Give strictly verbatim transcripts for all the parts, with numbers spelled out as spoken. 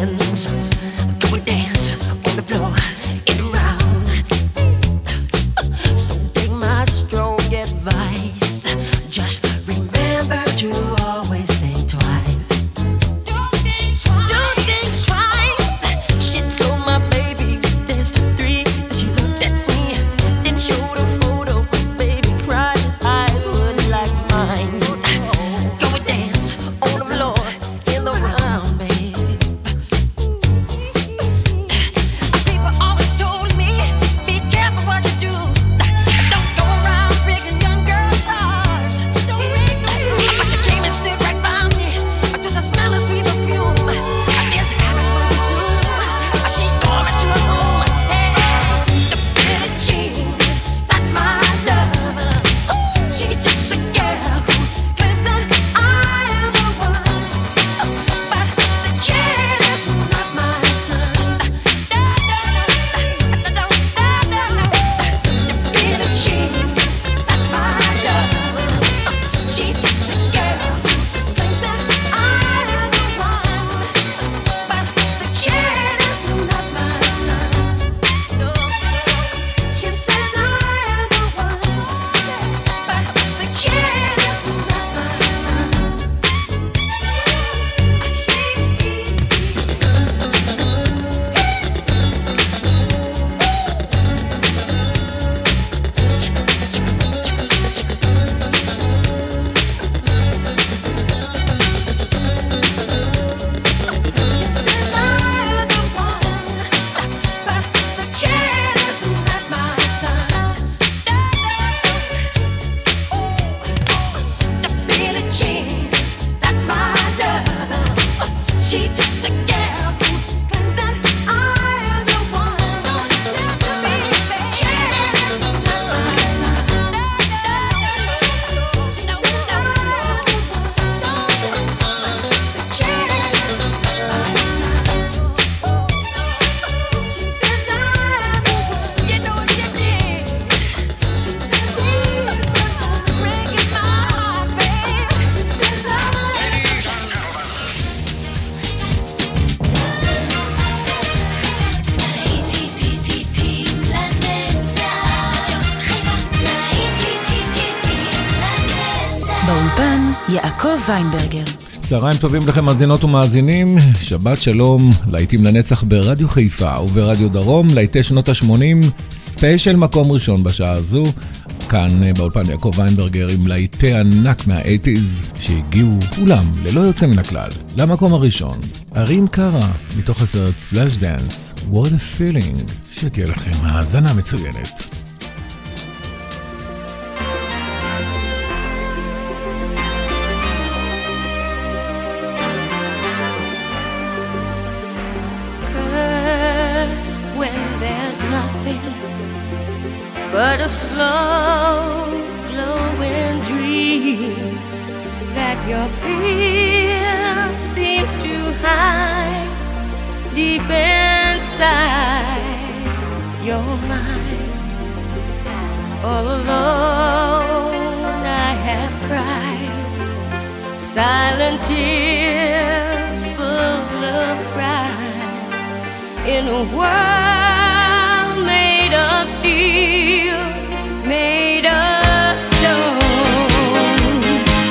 hands. Go and dance on the floor in the round. So take my strong advice. Just remember to always think twice. Don't think twice. Don't think twice. She told my baby dance to three. And she looked at me, then showed a photo. Baby cried, his eyes were like mine. Go and dance on the floor in the round, babe. People always told me, be careful what you do. Don't go around breaking young girls' hearts. Don't break no heart. But she came and stood right by me. Just a smell of sweet perfume. I guess it happened pretty soon. She called me to her home. Hey, the Billie Jean's not my lover. She's just a girl who claims that I am the one. But the kid is not my son. No, no, no, no, no, no, no. The Billie Jean's not my lover. She's just a girl who claims that I am the one. But the kid is not my son. No, she says I am the one. But the kid is not my son. She says I am the one, but the kid is not my son. The Billie Jean's not my lover. She's just a girl who claims that I am the one. The baby kid is not my son. She knows I am the one. The kid is not my son. She says I am the one. You know what you did. She says he's my son. Breaking my heart, babe. She says I am. באולפן יעקב ויינברגר. צהריים טובים לכם מאזינות ומאזינים, שבת שלום, להיטים לנצח ברדיו חיפה וברדיו דרום, להיטי שנות ה-שמונים, ספיישל מקום ראשון בשעה הזו, כאן באולפן יעקב ויינברגר עם להיטי ענק מה-שמונים שהגיעו כולם ללא יוצא מן הכלל למקום הראשון. ארים קרה מתוך הסרט פלאש דנס, What a Feeling, שתהיה לכם האזנה מצוינת. First, when there's nothing but a slow glowing dream that your fear seems to hide deep inside your mind. All alone I have cried silent tears full of pride in a world made of steel, made of stone.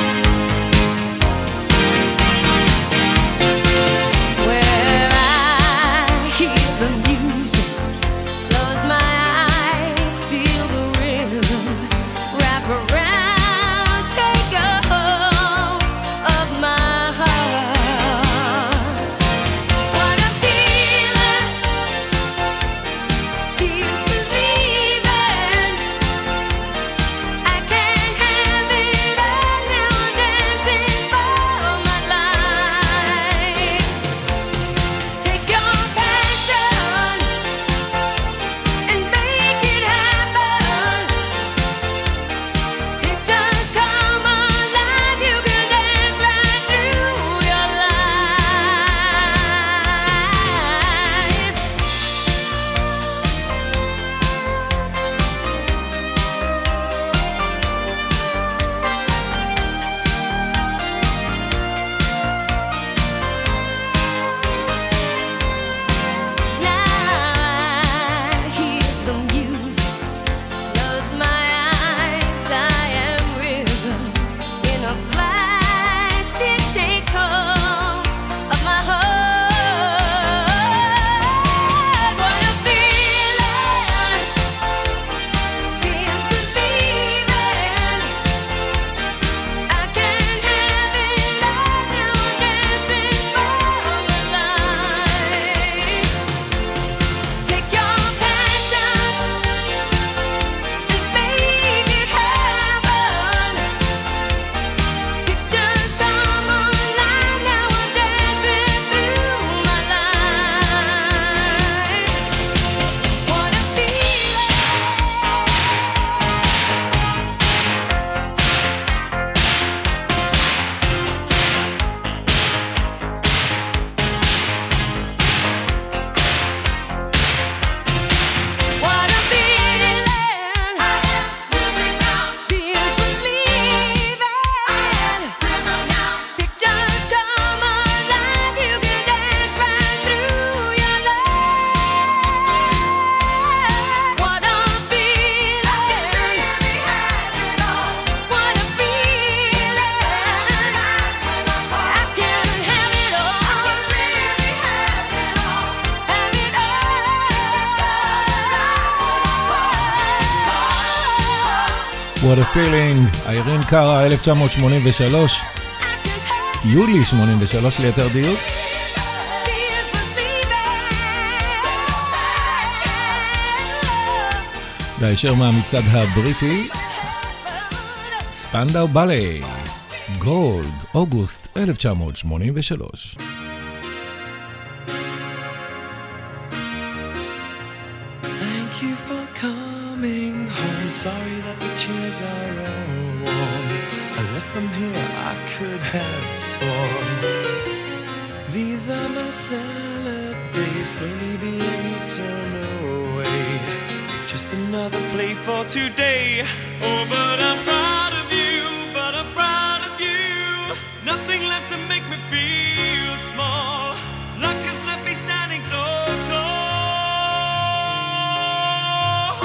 Where I hear the music, close my eyes, feel the rhythm, wrap around, take a hold of my heart. What a feeling, feels believing. What a Feeling, איירין קארה, אלף תשע מאות שמונים ושלוש, יולי שמונים ושלוש ליתר דיוק. והישר מהמצעד הבריטי, ספנדאו בלט, גולד, אוגוסט אלף תשע מאות שמונים ושלוש. Thank you for coming home. Sorry that the chairs are all warm. I left them here, I could have sworn. These are my salad days, slowly being eaten away. Just another play for today. Oh, but I'm proud of you, but I'm proud of you. Nothing left to make me feel small. Luck has left me standing so tall.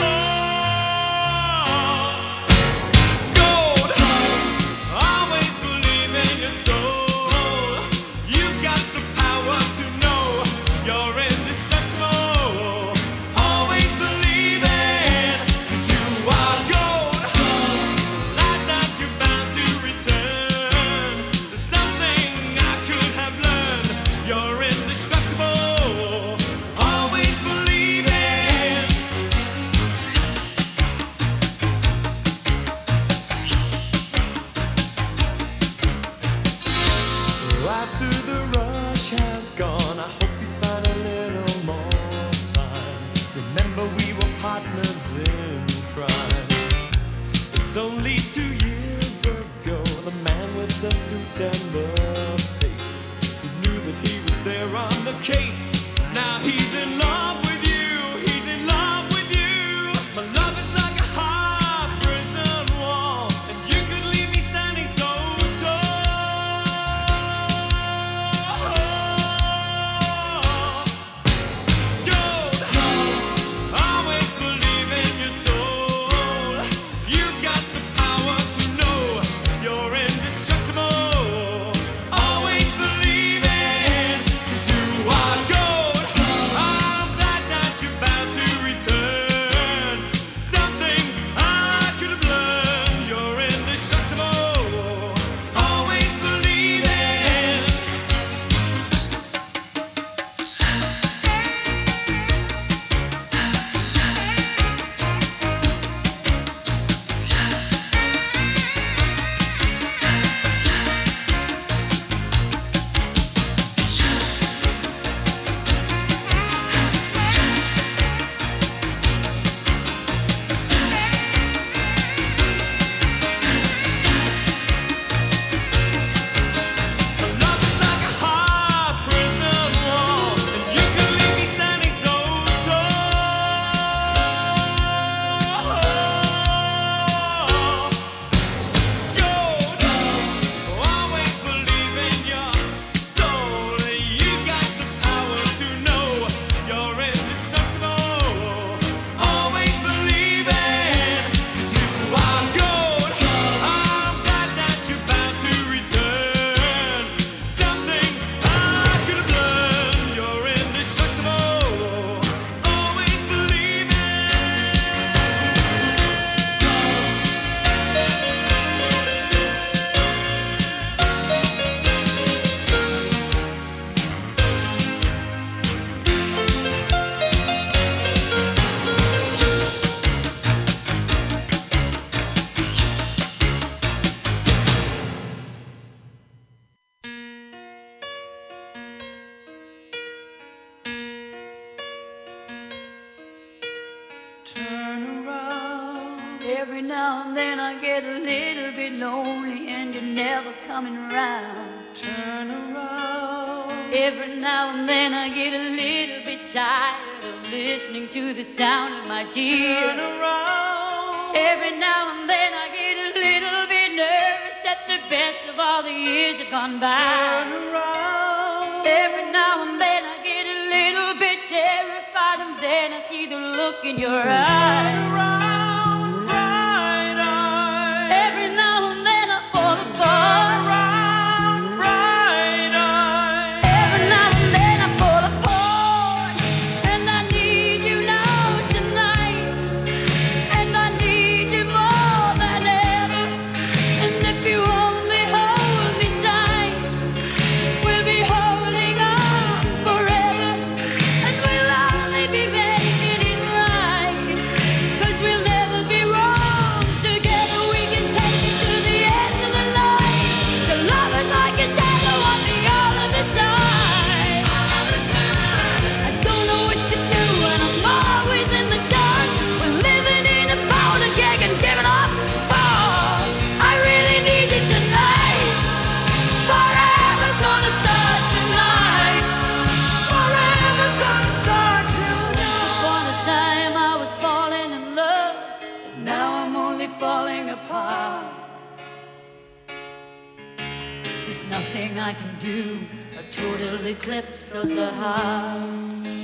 Gold, always believe in your soul. You've got the power to know you're indestructible. Always believe it, 'cause you are gold. Like that you're bound to return. There's something I could have learned. You're indestructible. Always believe it. After the rush has gone, I hope you find a little more time. Remember we were partners in crime. It's only two years ago, the man with the suit and the face, he knew that he was there on the case. Now he's in love with you, he's in love with you. My love is like a high prison wall, and you could leave me standing so tall. Gold, always believe in your soul. You've got the power to know you're indestructible. Always believe it, 'cause you are gold. I'm glad that you're bound to return. Something I could have learned. You're indestructible. Always believe it. Love is like a high prison wall, and you could leave me standing so tall. Gold, always believe in your soul. You got the power to know you're indestructible. Always believe it, 'cause you are gold. I'm glad that you're bound to return. Something I could have learned. You're indestructible. Always believe it. Turn around. Every now and then I get a little bit lonely and you're never coming around. Turn around. Every now and then I get a little bit tired of listening to the sound of my Turn tears. around. Every now and then I get a little bit nervous that the best of all the years have gone Turn by. around. Every now and then I get a little bit terrified and then I see the look in your Turn eyes. around, bright eyes. Every now and then I fall Turn apart. around, bright eyes. Every now and then I fall apart. And I need you now tonight. And I need you more than I can do, a total eclipse of the heart.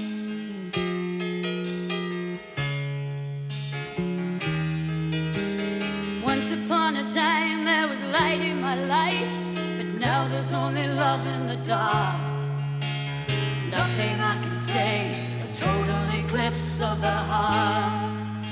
Once upon a time there was light in my life, but now there's only love in the dark. Nothing I can say, a total eclipse of the heart.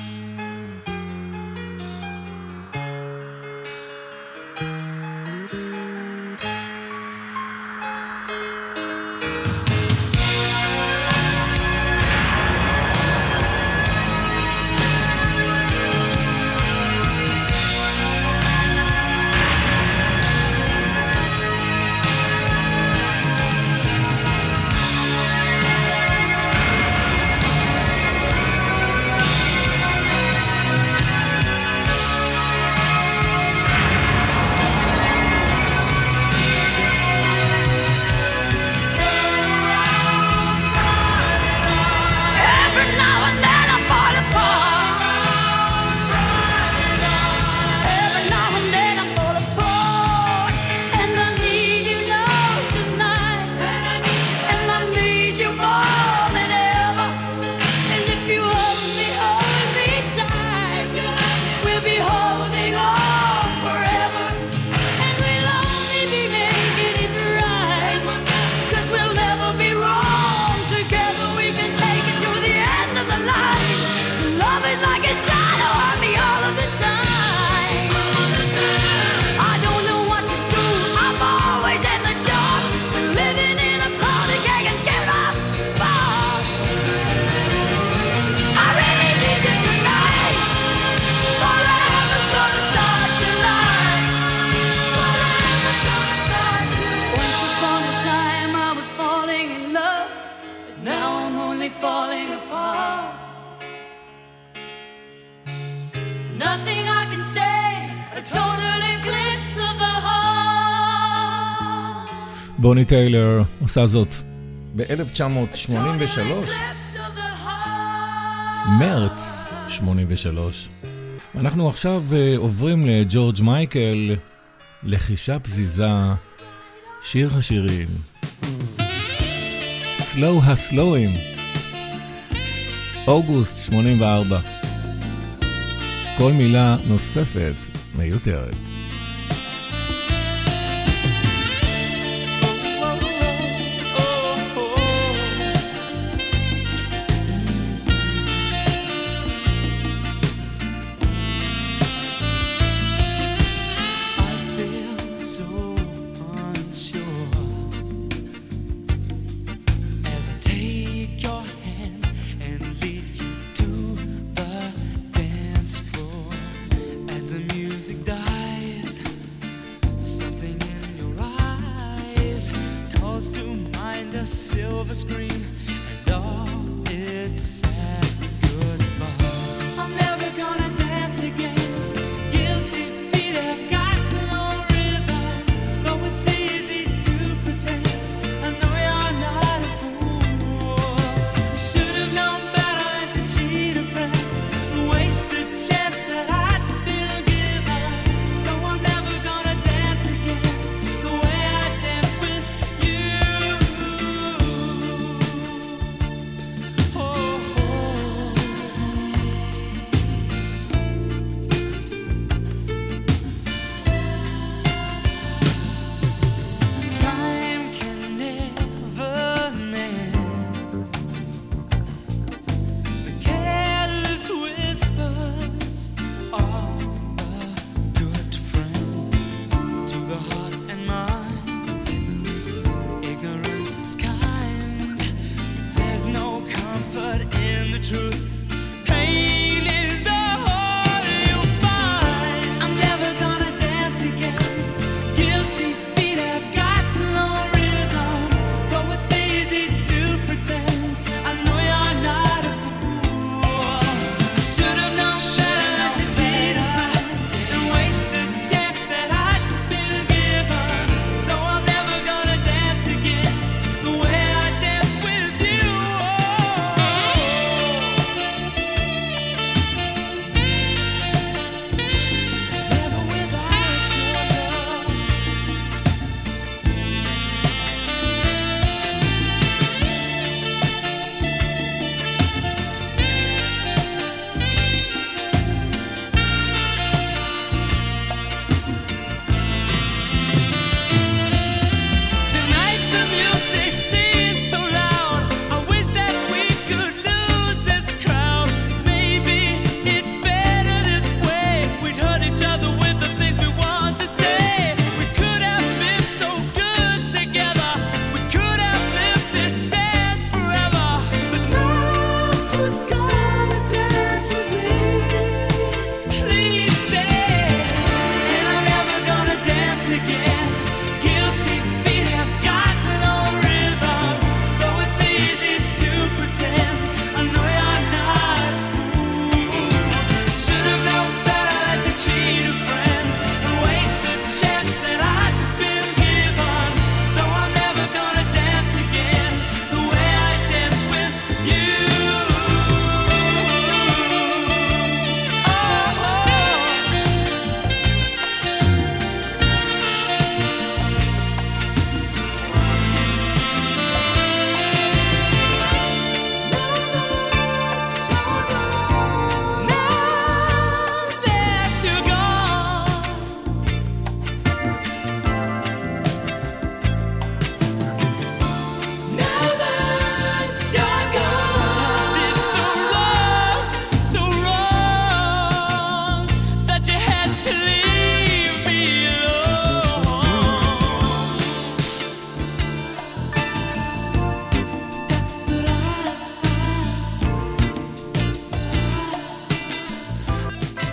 בוני טיילר עושה זאת ב-אלף תשע מאות שמונים ושלוש, מרץ שמונים ושלוש. אנחנו עכשיו עוברים לג'ורג' מייקל, לחישה פזיזה, שיר השירים, סלואו הסלואים, אוגוסט שמונים וארבע. כל מילה נוספת מיותרת.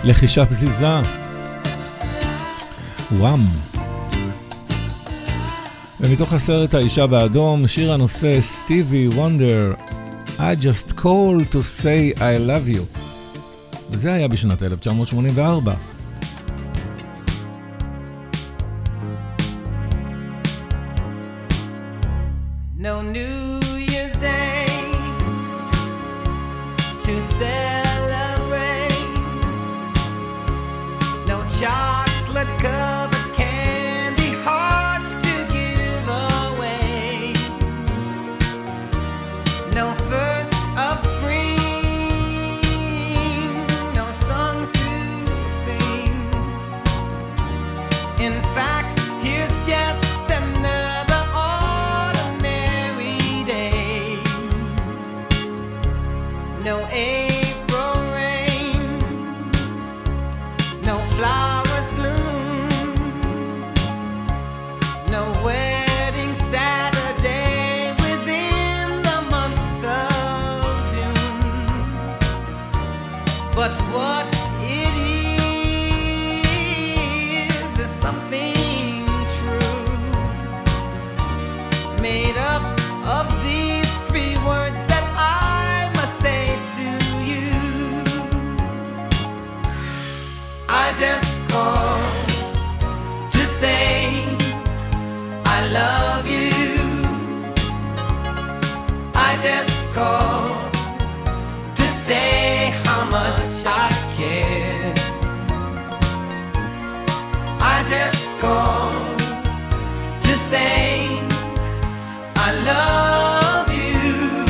לחישה פזיזה. וואם. ומתוך הסרט האישה באדום, שיר הנושא סטיבי וונדר, I just called to say I love you. וזה היה בשנת אלף תשע מאות שמונים וארבע. No New Year's Day to celebrate. No chocolate covered candy hearts to give away. No first of spring, no song to sing. In fact, here's just another ordinary day. No April rain, no flowers bloom, no wedding Saturday within the month of June. But what it is is something true, made up of these three words that I must say to you. I just called to say I love you. I just called to say how much I care. I just called to say I love you,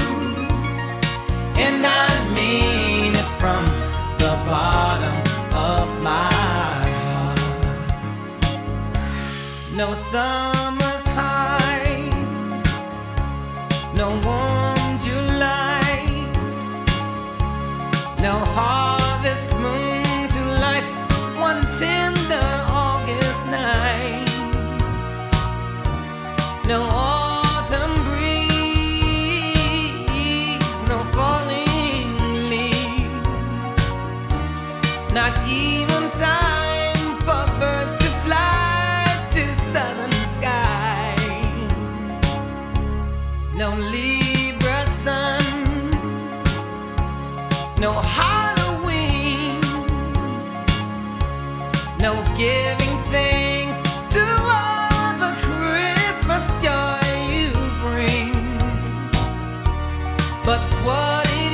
and I mean it from the bottom of my heart. No summer's high, no warm July, no harvest moon to light one tender August night. No autumn breeze, no falling leaves, not even time for birds to fly to southern skies. No Libra sun, no Halloween, no giving thanks to all the Christmas joy you bring. But what it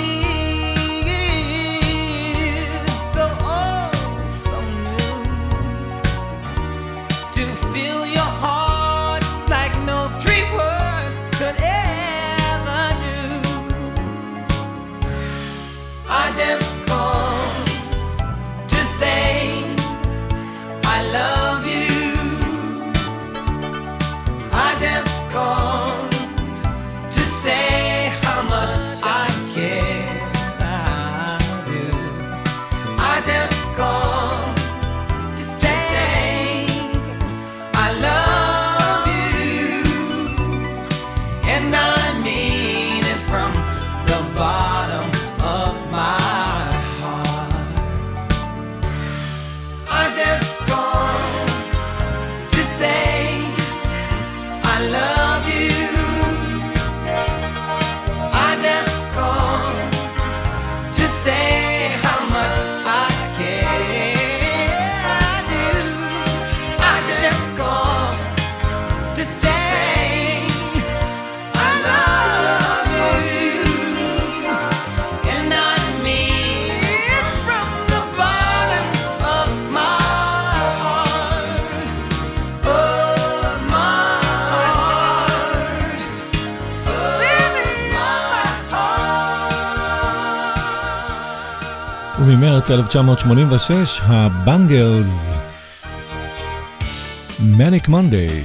is, though oh so new, to fill your heart like no three words could ever do. I just called to say I love you. I just called to say how much I care. I do. I just called to say I love you, and I mean it from the bottom of my heart. I just called to say I love you. I just called to say how much I care. I do. I just called to say I love you, and I mean it from the bottom of my heart, of my heart, of my heart. וממרץ אלף תשע מאות שמונים ושש, הבנגלס, Manic Monday.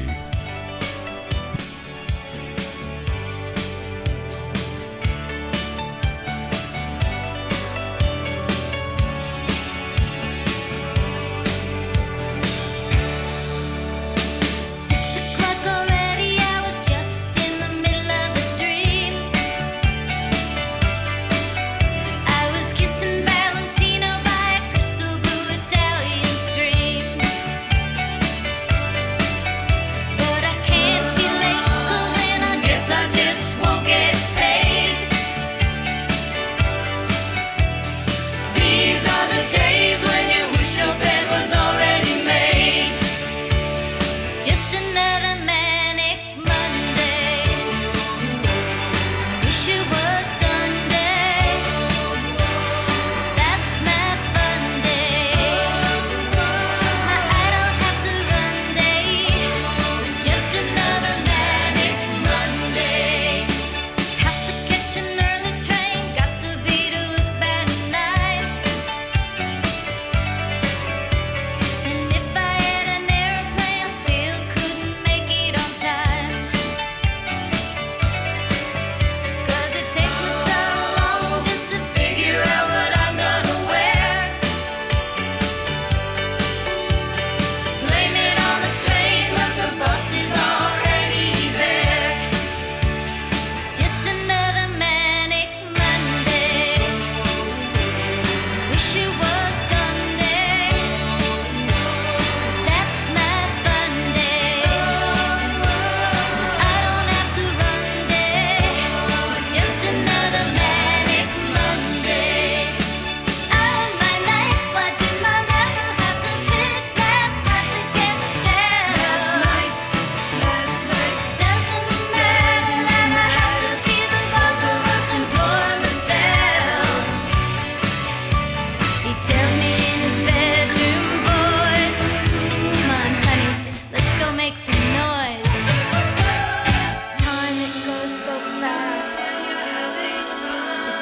Six o'clock already, I was just in the middle of a dream. I was kissing Valentino by a crystal blue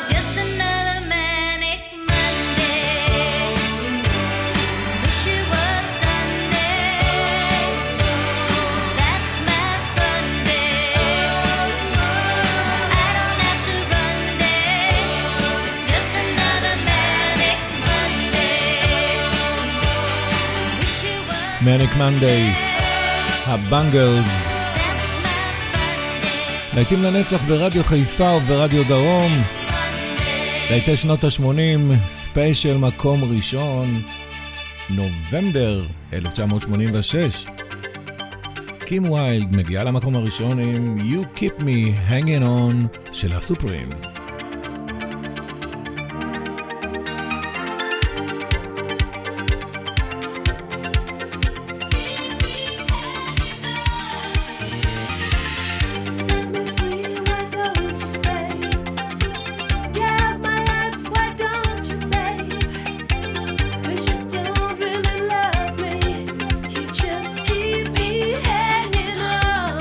just another manic Monday. Wish it was Sunday. That's my fun day. I don't have to run day. It's just another manic Monday. Wish it was Manic Monday, הבנגלס. להיטים לנצח ברדיו חיפה וברדיו דרום. להיטי שנות ה-שמונים, ספיישל מקום ראשון, נובמבר אלף תשע מאות שמונים ושש. קים ויילד מגיעה למקום הראשון עם You Keep Me Hanging On של הסופרימס. Set me free, why don't you, babe? Yeah, my life, why don't you, babe? 'Cause you don't really love me. You just keep me hanging on.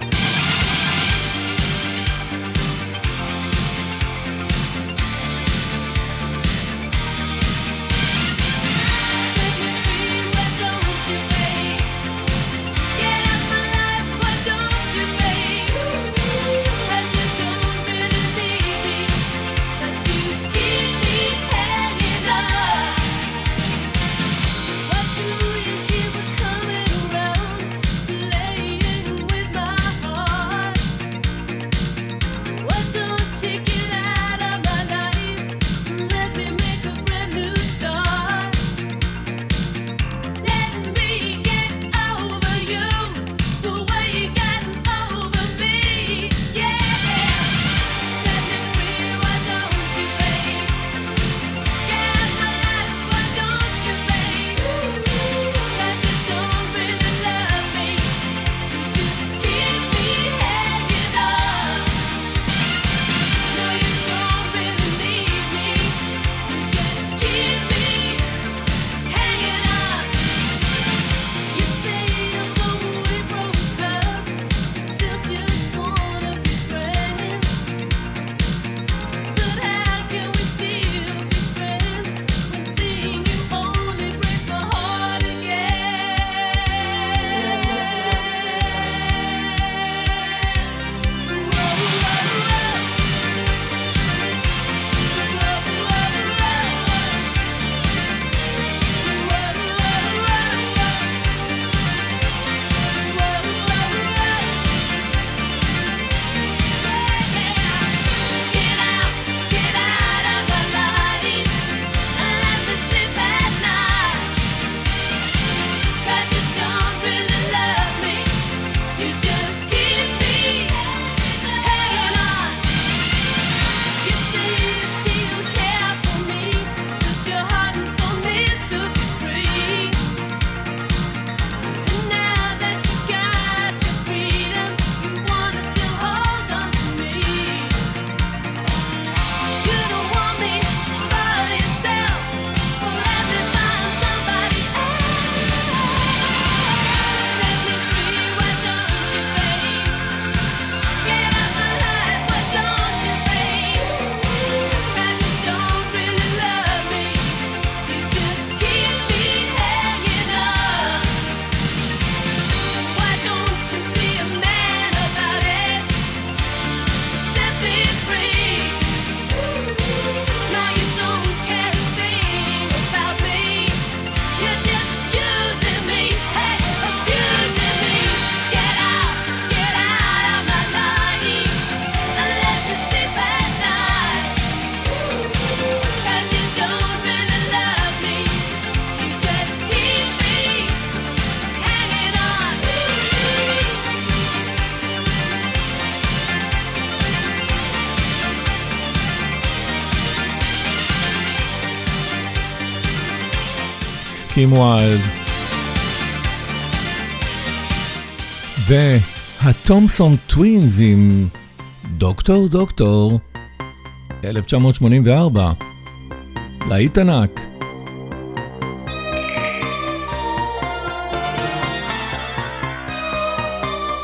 קים ויילד. והתומסון טווינס עם דוקטור דוקטור, אלף תשע מאות שמונים וארבע, להיט ענק.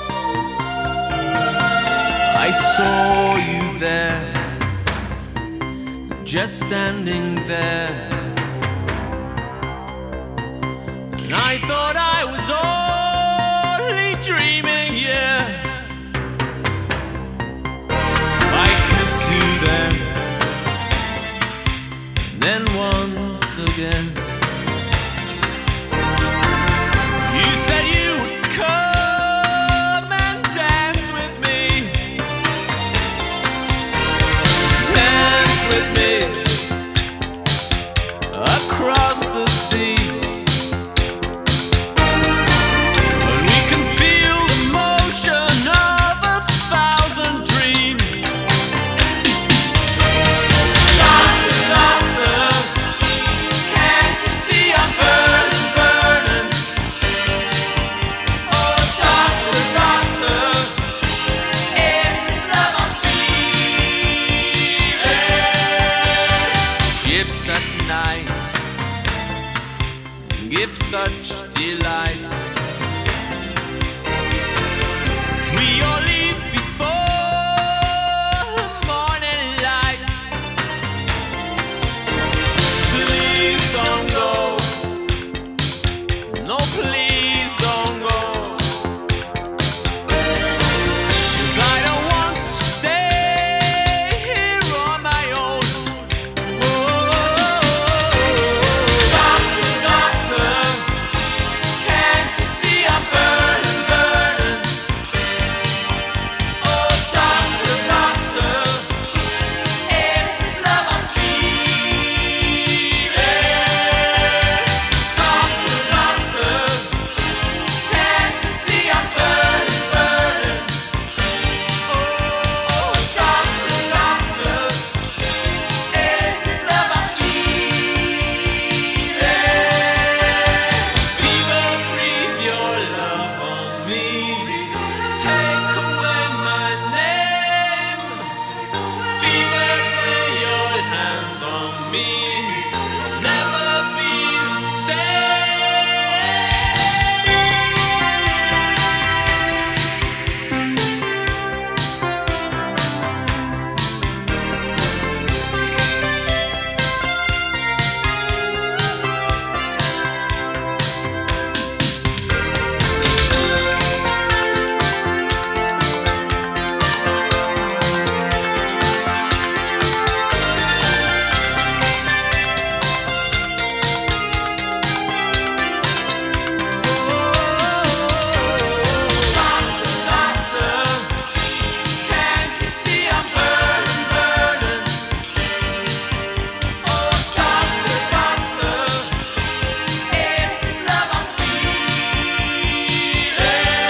I saw you there just standing there. And I thought I was only dreaming, yeah. I kiss you then, and then once again. You said you would come and dance with me, dance with me across the sea. And we can feel the motion of a thousand dreams. Doctor, doctor, can't you see I'm burning, burning? Oh, doctor, doctor, is this love I'm feeling? Ships at night give such delight. We all leave before morning light. Please don't go. No, please don't go. 'Cause I don't want to stay here on my own. Doctor, doctor, can't you see I'm burning, burning? Oh, doctor, doctor, is this love I'm feeling? Doctor, doctor, can't you see I'm burning, burning? Oh, doctor, doctor, is this love I'm feeling? Fever, breathe your love on me. Take away my name. Fever, lay your hands on me. Never be the Doctor, doctor, can't you see I'm burning, burning? Oh, doctor, doctor, is this love I'm feeling?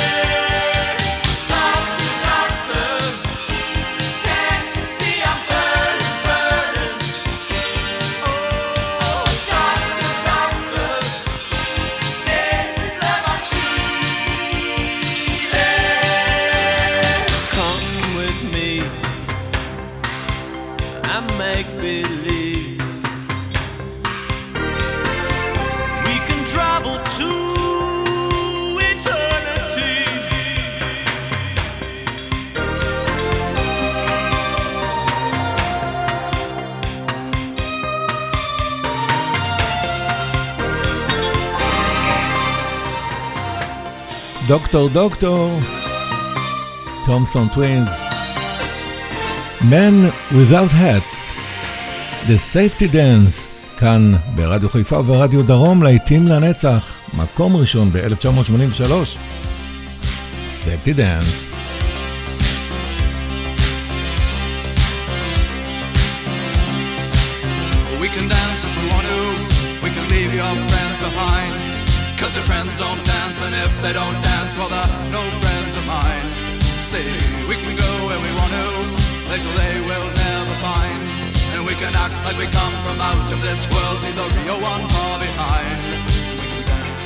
Doctor, doctor, can't you see I'm burning, burning? Oh, doctor, doctor, is this love I'm feeling? Come with me and make believe we can travel to eternity. דוקטור דוקטור, תומסון טווינס, Men Without Hats, The Safety Dance, כאן ברדיו חיפה ורדיו דרום, להיטים לנצח, מקום ראשון ב-אלף תשע מאות שמונים ושלוש, Safety Dance. We can dance if we want to. We can leave your friends behind. Cause your friends don't dance, and if they don't dance, well, they're no friends of mine. See, we can go where we want to, places they will never find. And we can act like we come from out of this world, leave the real one far behind. We can dance.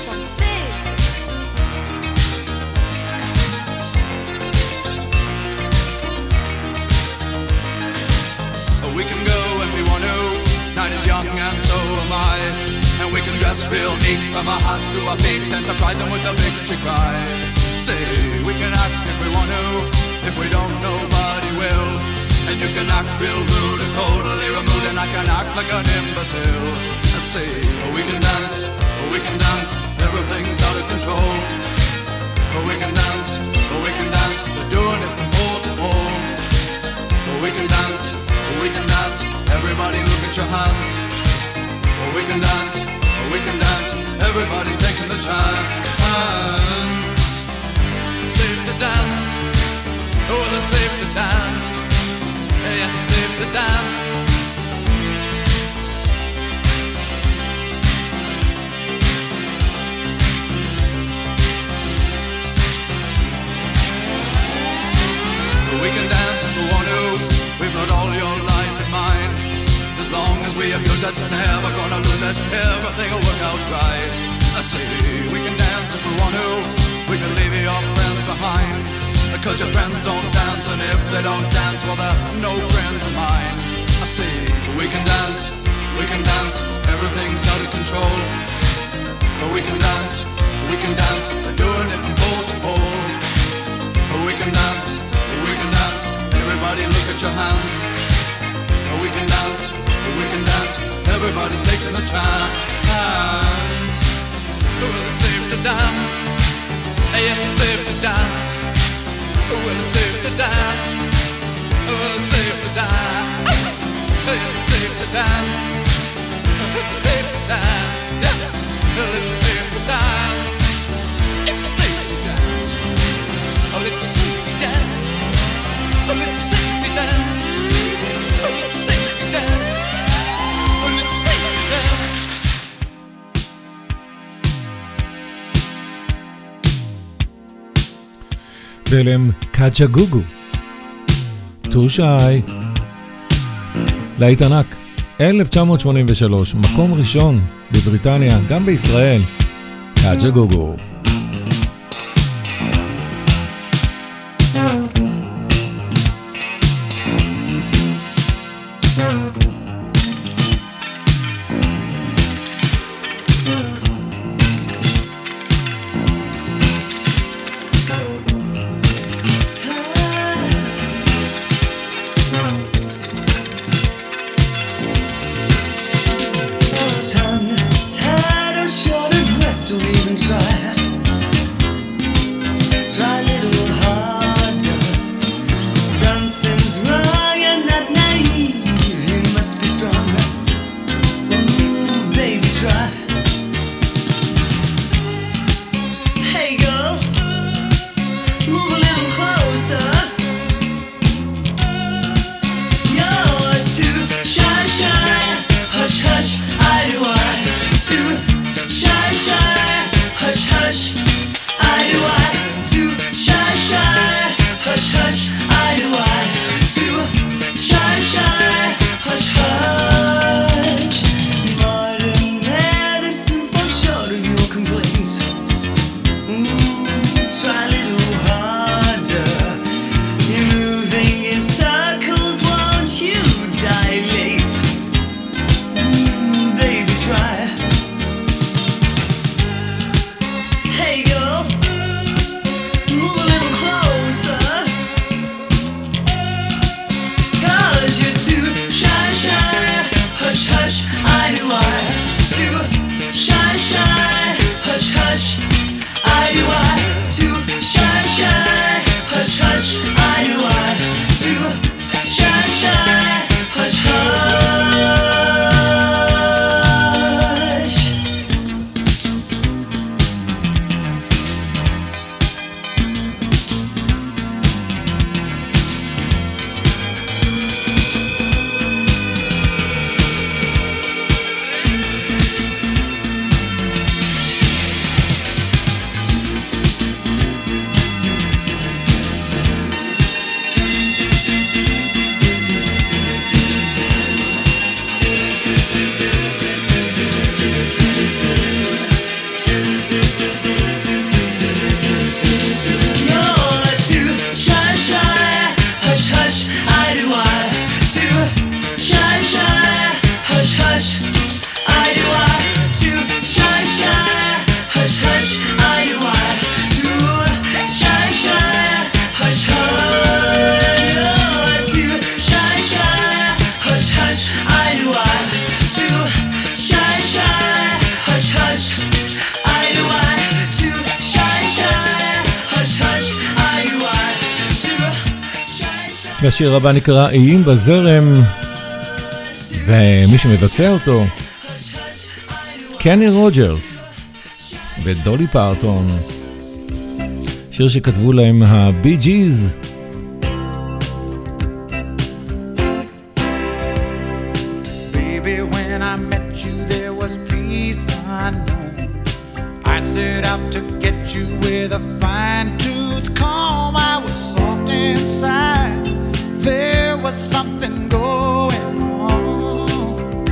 We can go when we want to. Night is young and so am I. And we can dress real neat from our hearts to our feet and surprise them with a victory cry. Say, we can act if we want to. If we don't, nobody will. And you can act real rude and totally remove them an imbecile. I say, we can dance, we can dance, everything's out of control. We can dance, we can dance, we're doing it from pole to pole. We can dance, we can dance, everybody look at your hands. We can dance, we can dance, everybody's taking the chance. Safe to dance, oh it's safe to dance. Yes, it's safe to dance. We can dance if we want to. We've got all your life in mind. As long as we abuse it, never gonna lose it. Everything will work out right. I say we can dance if we want to. We can leave your friends behind. Because your friends don't dance, and if they don't dance, well they're no friends of mine. I say we can dance, we can dance. Everything's out of control. But we can dance, we can dance. We're doing it from pole to pole. But we can dance. We can dance, everybody look at your hands. We can dance, we can dance, everybody's taking the chance. Well, it's safe to dance, yes, it's safe to dance. Well, it's safe to dance, well, it's safe to dance. Yes, it's safe to dance, it's safe to dance. Well, it's safe to dance, it's safe to dance. Oh, it's a safety dance. Oh, it's a safety dance. Oh, it's a safety dance. Oh, it's a safety dance. ואלם קאצ'ה גוגו. טו שי. להיט ענק. אלף תשע מאות שמונים ושלוש, מקום ראשון בבריטניה, גם בישראל. קאצ'ה גוגו. Something's wrong, you're not naive. You must be והשיר הבא נקרא איים בזרם, ומי שמבצע אותו, קני רוג'רס ודולי פרטון, שיר שכתבו להם הבי ג'יז. Baby, when I met you, there was peace unknown. I set out to get you with a fine-tooth comb. I was soft inside. There was something going on.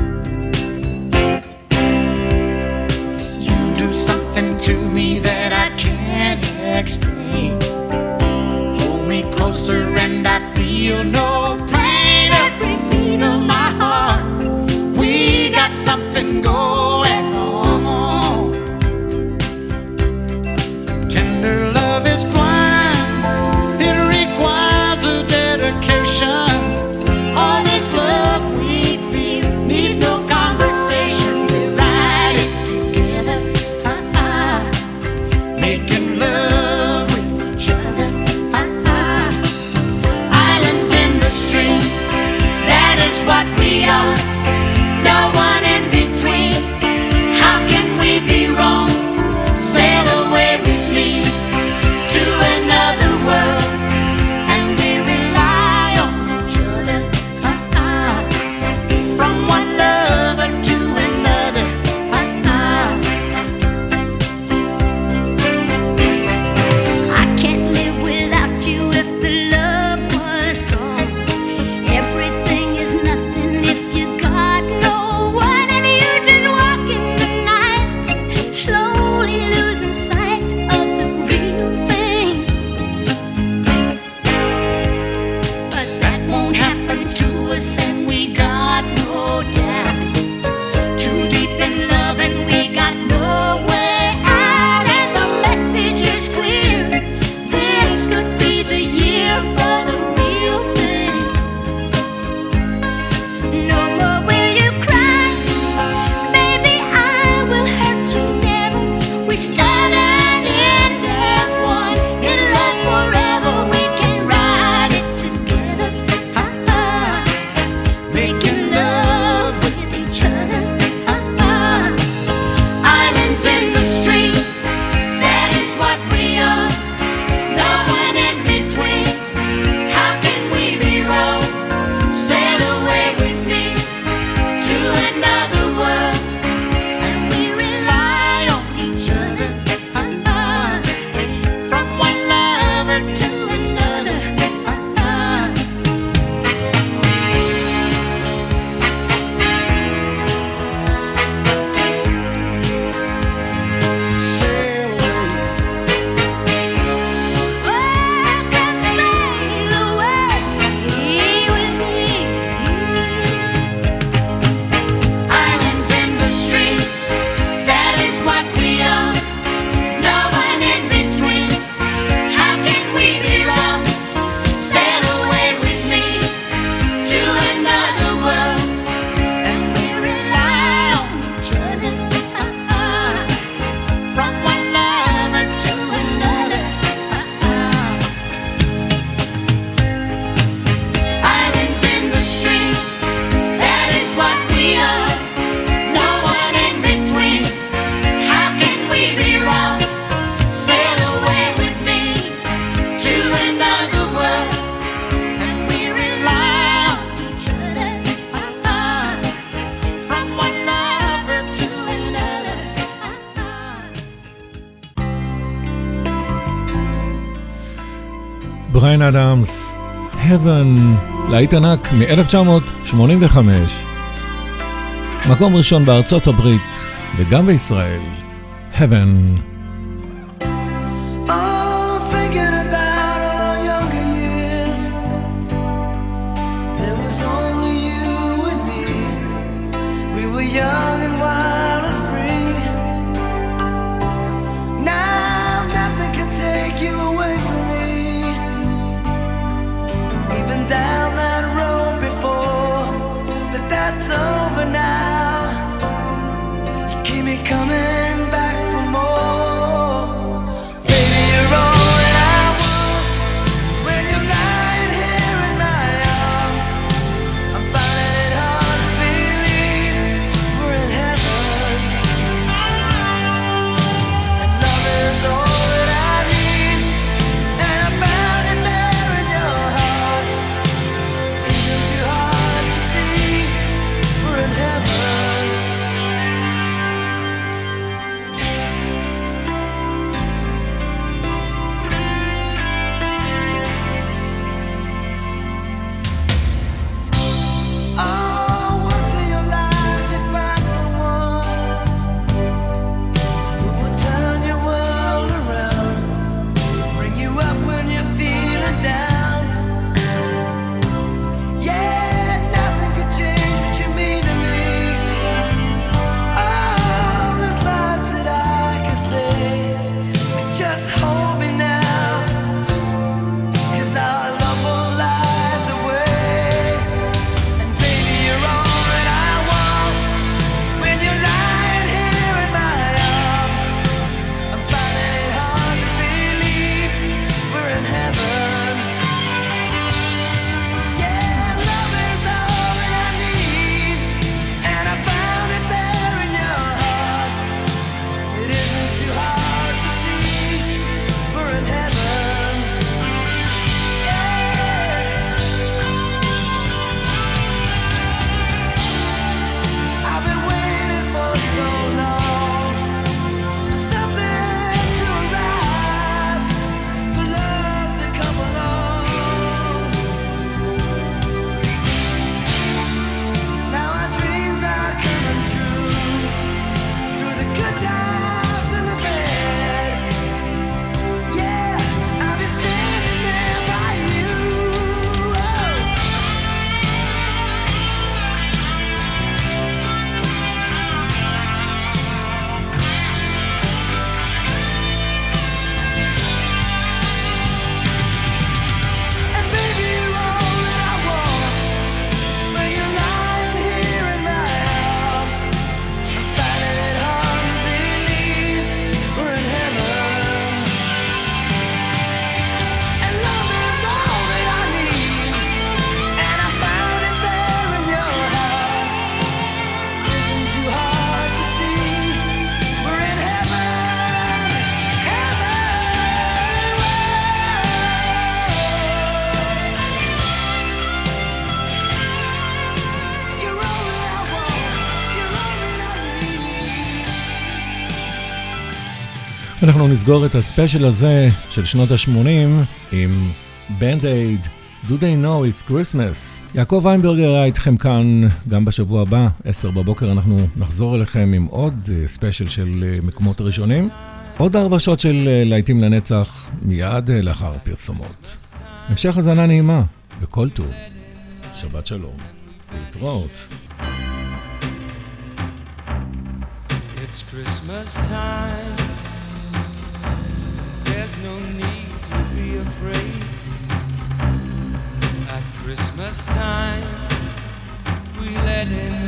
You do something to me that I can't explain. Hold me closer and I feel no pain. Every beat of my heart, we got something going on. Tender love is blind. It requires a dedication. All this love we feel needs no conversation. We ride it together, uh-uh. Making love with each other, uh-uh. Islands in the stream, that is what we are. No one in between. How can we be wrong? Sail away with me to another world, and we rely on each other, uh-uh. From one lover to another, uh-uh. I can't live without you if the love was gone. Everything is nothing if you got no one, and you just walk in the night, slowly losing sight of the real thing. But that won't happen to us, and we got no doubt. Too deep in love, and we got no way out, and the message is clear. This could be the year for the real thing. No more will you cry, baby, I will hurt you never. We start and end as one, in love forever. We can ride it together, uh-uh. Making love with each other, uh-uh. Islands in the stream, that is what we are. No one in between. How can we be wrong? Sail away with me to another world, and we rely on each other, uh-uh. From one lover to another, uh-uh. Sail away. Oh, come sail away with me. Islands in the stream, that is what we are. No one in between. How can we be wrong? Sail away with me to another world, and we rely on each other, uh-uh. From one lover to another, uh-uh. Islands in the stream, that is what we are. No one in between. How can we be wrong? Sail away with me to another world, and we rely on each other, uh-uh. From one lover to another, uh-uh. בריין אדמס, Heaven, להיט ענק מ-אלף תשע מאות שמונים וחמש, מקום ראשון בארצות הברית וגם בישראל. Heaven. Oh, thinking about all our younger years, there was only you and me. We were young and wild and free. Now nothing can take you away from me. We've been down that road before, but that's over now. You keep me coming back for more. Baby, you're all that I want when you're lying here in my אנחנו נסגור את הספיישל הזה של שנות ה-שמונים עם Band-Aid, Do They Know It's Christmas. יעקב ויינברגר היה איתכם כאן גם בשבוע הבא, עשר בבוקר אנחנו נחזור אליכם עם עוד ספיישל של מקומות ראשונים. עוד ארבע שעות של להיטים לנצח מיד לאחר פרסומות. המשך הזנה נעימה בכל טוב. שבת שלום. להתראות. It's Christmas time. There's no need to be afraid. At Christmas time, we let in